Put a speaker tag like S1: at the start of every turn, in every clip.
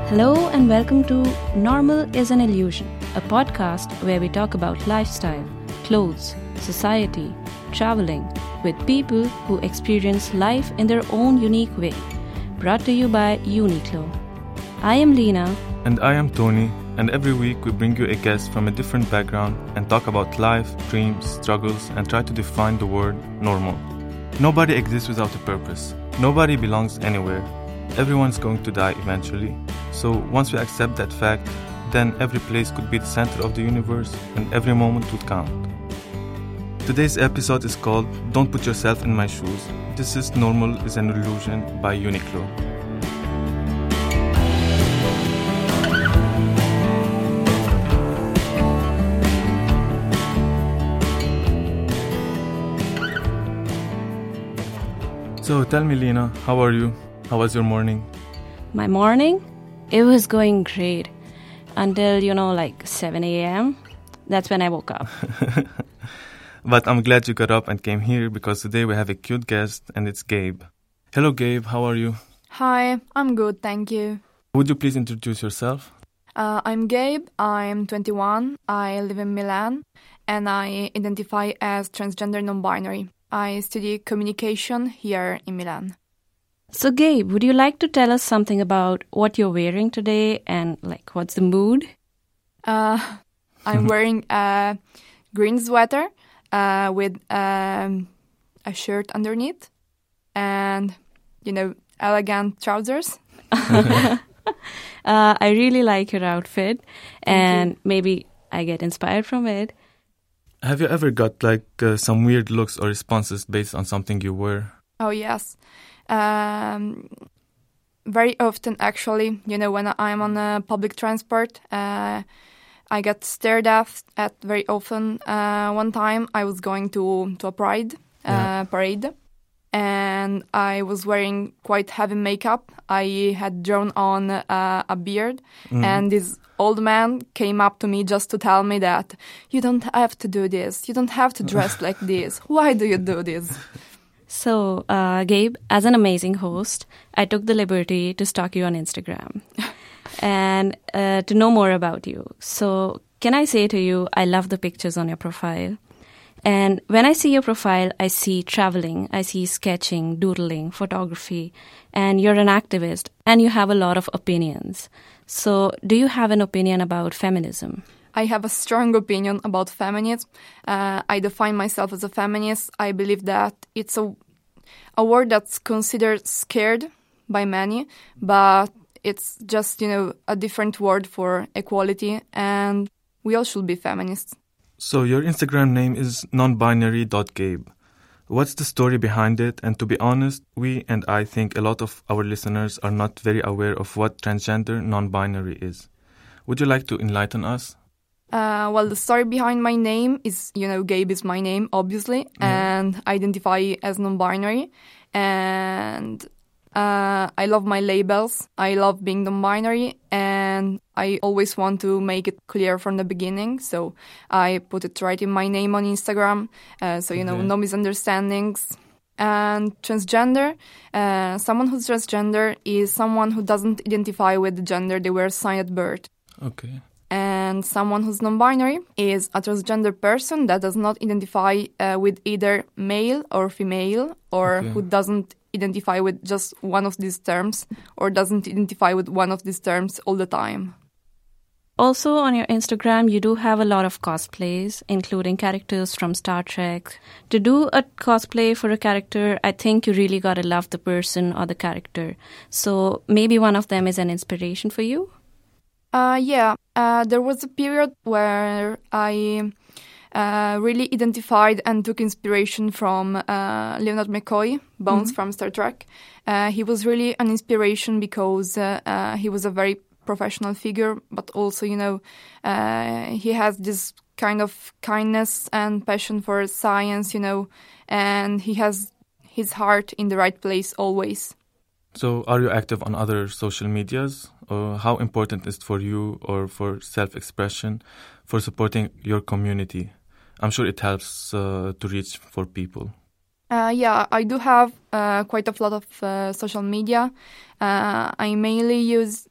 S1: Hello and welcome to Normal is an Illusion, a podcast where we talk about lifestyle, clothes, society, traveling with people who experience life in their own unique way. Brought to you by Uniqlo. I am Lena.
S2: And I am Tony, and every week we bring you a guest from a different background and talk about life, dreams, struggles, and try to define the word normal. Nobody exists without a purpose. Nobody belongs anywhere. Everyone's going to die eventually. So once we accept that fact, then every place could be the center of the universe and every moment would count. Today's episode is called Don't Put Yourself in My Shoes. This is Normal is an Illusion by Uniqlo. So tell me, Lena, how are you? How was your morning?
S1: My morning? It was going great until, 7 a.m. That's when I woke up.
S2: But I'm glad you got up and came here because today we have a cute guest and it's Gabe. Hello, Gabe. How are you?
S3: Hi, I'm good, thank you.
S2: Would you please introduce yourself?
S3: I'm Gabe, I'm 21, I live in Milan, and I identify as transgender non-binary. I study communication here in Milan.
S1: So Gabe, would you like to tell us something about what you're wearing today and what's the mood?
S3: I'm wearing a green sweater with a shirt underneath and, elegant trousers.
S1: I really like your outfit and maybe I get inspired from it.
S2: Have you ever got some weird looks or responses based on something you wear?
S3: Oh, yes. Very often, actually, when I'm on public transport, I get stared at very often. One time I was going to a parade, and I was wearing quite heavy makeup. I had drawn on a beard, and this old man came up to me just to tell me that you don't have to do this. You don't have to dress like this. Why do you do this?
S1: So, Gabe, as an amazing host, I took the liberty to stalk you on Instagram and to know more about you. So, can I say to you, I love the pictures on your profile. And when I see your profile, I see traveling, I see sketching, doodling, photography, and you're an activist and you have a lot of opinions. So, do you have an opinion about feminism?
S3: I have a strong opinion about feminism. I define myself as a feminist. I believe that it's a word that's considered scared by many, but it's just, a different word for equality, and we all should be feminists.
S2: So your Instagram name is nonbinary.gabe. What's the story behind it? And to be honest, we and I think a lot of our listeners are not very aware of what transgender non-binary is. Would you like to enlighten us?
S3: Well, the story behind my name is, Gabe is my name, obviously, and I identify as non-binary. And I love my labels. I love being non-binary, and I always want to make it clear from the beginning. So I put it right in my name on Instagram, no misunderstandings. And transgender, someone who's transgender is someone who doesn't identify with the gender they were assigned at birth.
S2: Okay.
S3: And someone who's non-binary is a transgender person that does not identify with either male or female, or who doesn't identify with just one of these terms, or doesn't identify with one of these terms all the time.
S1: Also, on your Instagram, you do have a lot of cosplays, including characters from Star Trek. To do a cosplay for a character, I think you really gotta love the person or the character. So maybe one of them is an inspiration for you?
S3: There was a period where I really identified and took inspiration from Leonard McCoy, Bones from Star Trek. He was really an inspiration because he was a very professional figure, but also, he has this kind of kindness and passion for science, and he has his heart in the right place always.
S2: So are you active on other social medias? Or how important is it for you or for self-expression, for supporting your community? I'm sure it helps to reach for people.
S3: I do have quite a lot of social media. I mainly use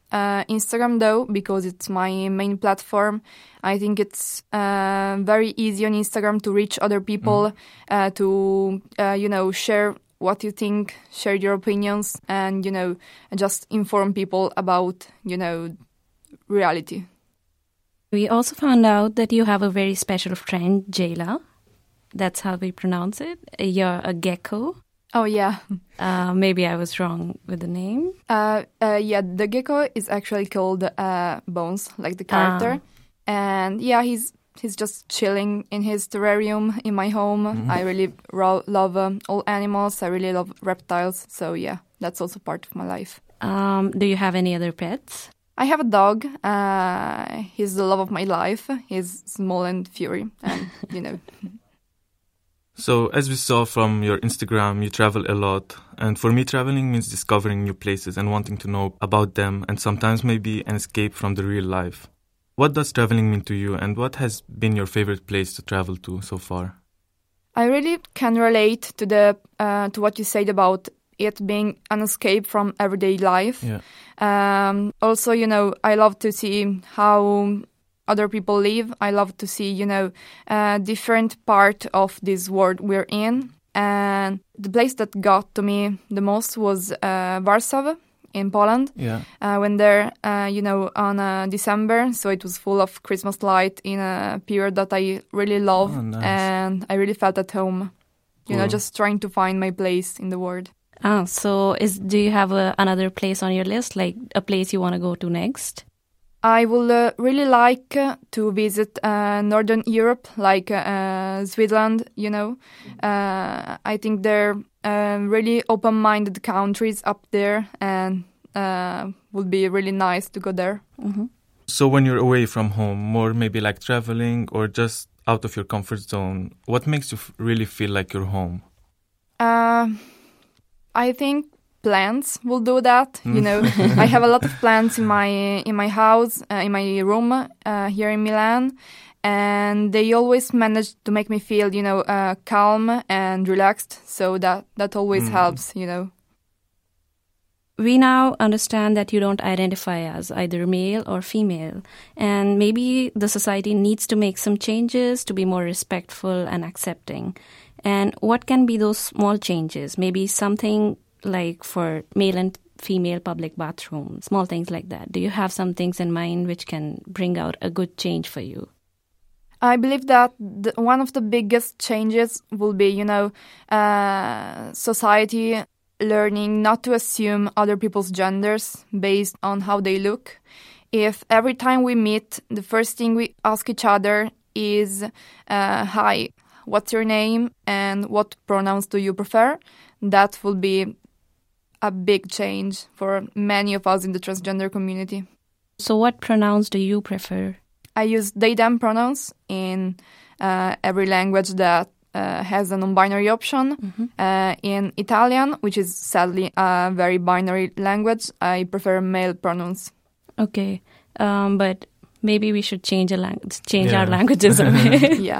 S3: Instagram though, because it's my main platform. I think it's very easy on Instagram to reach other people, to share what you think, share your opinions, and just inform people about reality.
S1: We also found out that you have a very special friend, Jayla. That's how we pronounce it. You're a gecko.
S3: Oh, yeah.
S1: Maybe I was wrong with the name.
S3: Yeah, the gecko is actually called Bones, like the character. And yeah, he's just chilling in his terrarium in my home. I really love all animals. I really love reptiles. So yeah, that's also part of my life.
S1: Do you have any other pets?
S3: I have a dog. He's the love of my life. He's small and furry, and
S2: So, as we saw from your Instagram, you travel a lot. And for me, traveling means discovering new places and wanting to know about them, and sometimes maybe an escape from the real life. What does traveling mean to you, and what has been your favorite place to travel to so far?
S3: I really can relate to what you said about it being an escape from everyday life.
S2: Yeah.
S3: Also, I love to see how other people live. I love to see, different part of this world we're in. And the place that got to me the most was Warsaw in Poland.
S2: Yeah.
S3: I went there, on December, so it was full of Christmas light in a period that I really love.
S2: Oh, nice.
S3: And I really felt at home,
S2: Cool.
S3: just trying to find my place in the world.
S1: So do you have another place on your list, like a place you want to go to next?
S3: I would really like to visit Northern Europe, like Switzerland, I think they're really open-minded countries up there, and would be really nice to go there.
S1: Mm-hmm.
S2: So when you're away from home, more maybe like traveling or just out of your comfort zone, what makes you really feel like you're home?
S3: I think plants will do that. I have a lot of plants in my house, in my room here in Milan, and they always manage to make me feel, calm and relaxed. So that always helps,
S1: We now understand that you don't identify as either male or female, and maybe the society needs to make some changes to be more respectful and accepting. And what can be those small changes? Maybe something like for male and female public bathrooms, small things like that. Do you have some things in mind which can bring out a good change for you?
S3: I believe that one of the biggest changes will be, society learning not to assume other people's genders based on how they look. If every time we meet, the first thing we ask each other is, hi, what's your name and what pronouns do you prefer? That will be a big change for many of us in the transgender community.
S1: So what pronouns do you prefer?
S3: I use they, them pronouns in every language that has a non-binary option.
S1: Mm-hmm.
S3: In Italian, which is sadly a very binary language, I prefer male pronouns.
S1: Okay, but maybe we should change our languages a bit.
S3: Yeah.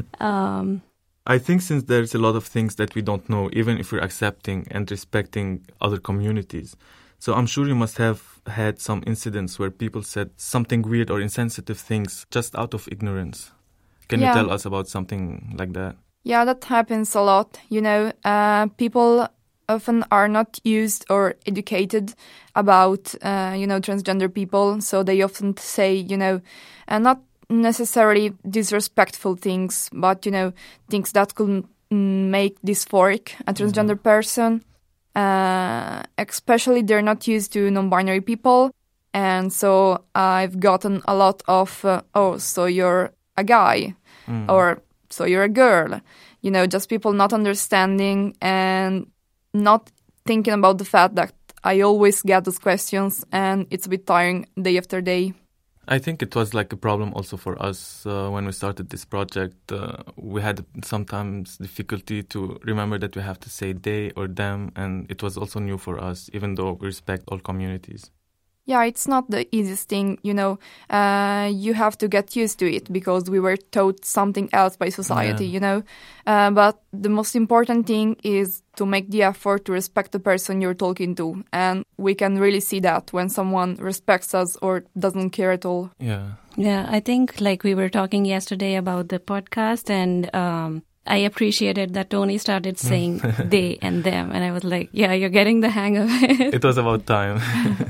S2: I think since there's a lot of things that we don't know, even if we're accepting and respecting other communities. So I'm sure you must have had some incidents where people said something weird or insensitive things just out of ignorance. Can you tell us about something like that?
S3: Yeah, that happens a lot. People often are not used or educated about, transgender people. So they often say, not necessarily disrespectful things, but, things that could make dysphoric a transgender person. Especially they're not used to non-binary people. And so I've gotten a lot of, so you're a guy, or so you're a girl. Just people not understanding and not thinking about the fact that I always get those questions, and it's a bit tiring day after day.
S2: I think it was like a problem also for us when we started this project. We had sometimes difficulty to remember that we have to say they or them, and it was also new for us, even though we respect all communities.
S3: Yeah, it's not the easiest thing, you know. You have to get used to it because we were taught something else by society, you know. But the most important thing is to make the effort to respect the person you're talking to. And we can really see that when someone respects us or doesn't care at all.
S2: Yeah.
S1: Yeah, I think like we were talking yesterday about the podcast, and I appreciated that Tony started saying they and them. And I was like, yeah, you're getting the hang of it.
S2: It was about time.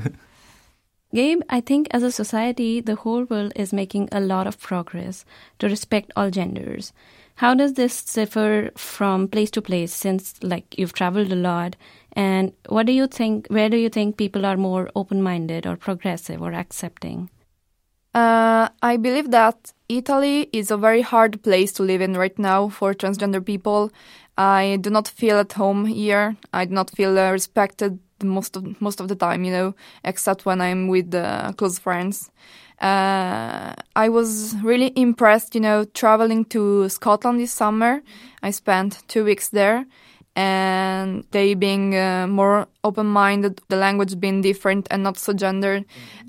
S1: Gabe, I think as a society, the whole world is making a lot of progress to respect all genders. How does this differ from place to place, since like you've traveled a lot? And what do you think, where do you think people are more open-minded or progressive or accepting?
S3: I believe that Italy is a very hard place to live in right now for transgender people. I do not feel at home here. I do not feel respected most of the time, you know, except when I'm with close friends. I was really impressed, you know, traveling to Scotland this summer. I spent 2 weeks there, and they being more open-minded, the language being different and not so gendered.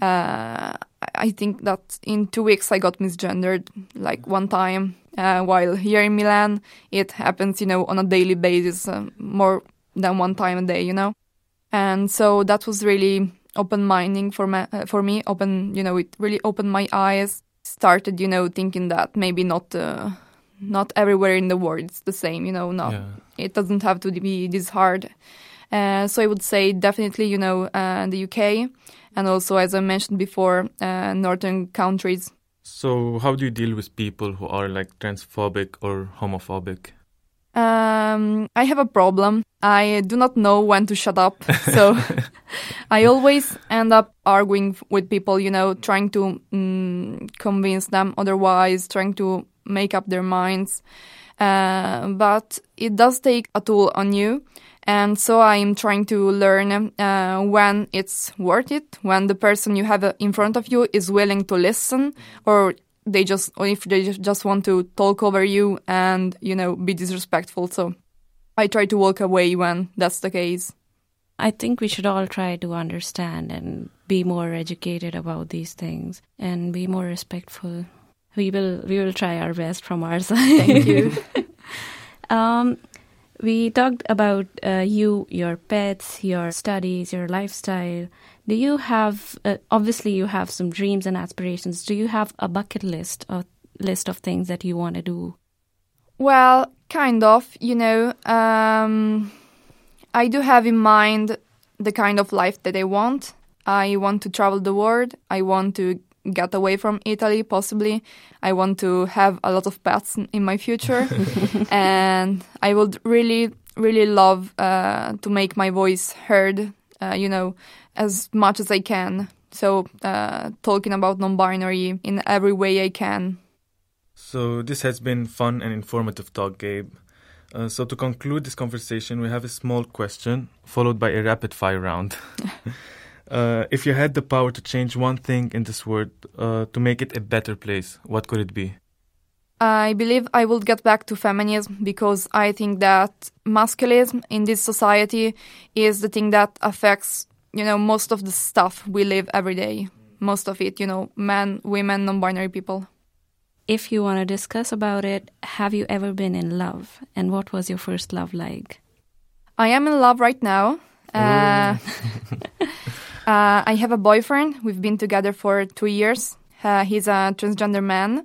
S3: I think that in 2 weeks I got misgendered like one time, while here in Milan it happens, you know, on a daily basis, more than one time a day, you know. And so that was really open-minding for me. You know, it really opened my eyes. Started, you know, thinking that maybe not everywhere in the world it's the same, you know. No, It doesn't have to be this hard. So I would say definitely, you know, the UK, and also, as I mentioned before, northern countries.
S2: So how do you deal with people who are like transphobic or homophobic?
S3: I have a problem. I do not know when to shut up. So I always end up arguing with people, you know, trying to convince them otherwise, trying to make up their minds. But it does take a toll on you. And so I'm trying to learn when it's worth it, when the person you have in front of you is willing to listen, or if they just want to talk over you and, you know, be disrespectful. So I try to walk away when that's the case.
S1: I think we should all try to understand and be more educated about these things and be more respectful. We will try our best from our side.
S3: Thank you.
S1: We talked about your pets, your studies, your lifestyle. Do you have, obviously you have some dreams and aspirations. Do you have a bucket list of things that you want to do?
S3: Well, kind of, you know. I do have in mind the kind of life that I want. I want to travel the world. I want to get away from Italy, possibly. I want to have a lot of pets in my future. And I would really, really love to make my voice heard, you know, as much as I can. So talking about non-binary in every way I can.
S2: So this has been fun and informative talk, Gabe. So to conclude this conversation, we have a small question followed by a rapid-fire round. If you had the power to change one thing in this world to make it a better place, what could it be?
S3: I believe I will get back to feminism because I think that masculinism in this society is the thing that affects, you know, most of the stuff we live every day. Most of it, you know, men, women, non-binary people.
S1: If you want to discuss about it, have you ever been in love? And what was your first love like?
S3: I am in love right now. I have a boyfriend. We've been together for 2 years. He's a transgender man.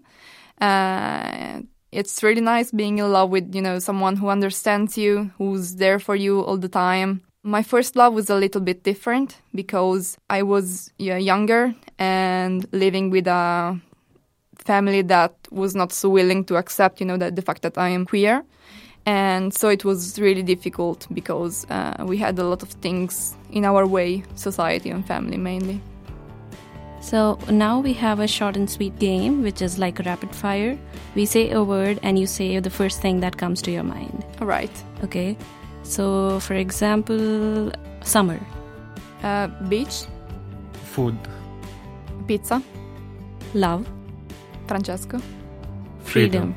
S3: It's really nice being in love with, you know, someone who understands you, who's there for you all the time. My first love was a little bit different because I was younger and living with a family that was not so willing to accept, you know, the fact that I am queer. And so it was really difficult because we had a lot of things in our way, society and family mainly.
S1: So now we have a short and sweet game, which is like a rapid fire. We say a word and you say the first thing that comes to your mind.
S3: All right.
S1: Okay. So, for example, summer.
S3: Beach.
S2: Food.
S3: Pizza.
S1: Love.
S3: Francesco.
S1: Freedom.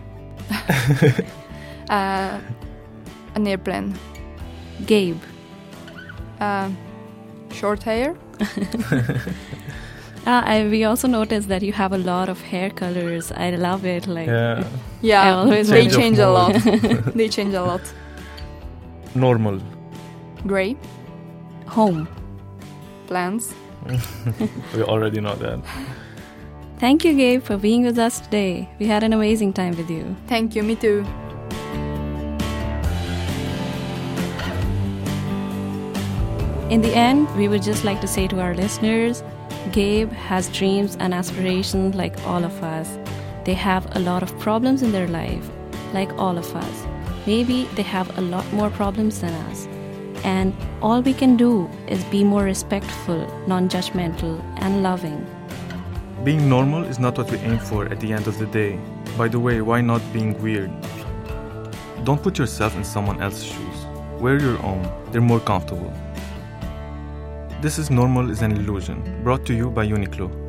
S3: An airplane.
S1: Gabe.
S3: Short hair.
S1: We also noticed that you have a lot of hair colors. I love it. Like, I
S3: Yeah,
S1: always
S3: they
S2: Change of
S3: change a lot.
S2: mode.
S3: They change a lot.
S2: Normal.
S3: Gray,
S1: home.
S3: plants.
S2: We already know that.
S1: Thank you, Gabe, for being with us today. We had an amazing time with you.
S3: Thank you, me too.
S1: In the end, we would just like to say to our listeners, Gabe has dreams and aspirations like all of us. They have a lot of problems in their life, like all of us. Maybe they have a lot more problems than us. And all we can do is be more respectful, non-judgmental, and loving.
S2: Being normal is not what we aim for at the end of the day. By the way, why not being weird? Don't put yourself in someone else's shoes. Wear your own. They're more comfortable. This is Normal is an Illusion, brought to you by Uniqlo.